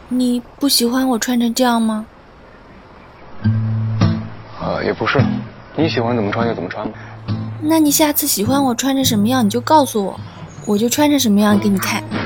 你不喜欢我穿成这样吗？ 也不是，你喜欢怎么穿就怎么穿吧。 那你下次喜欢我穿成什么样你就告诉我，我就穿成什么样给你看。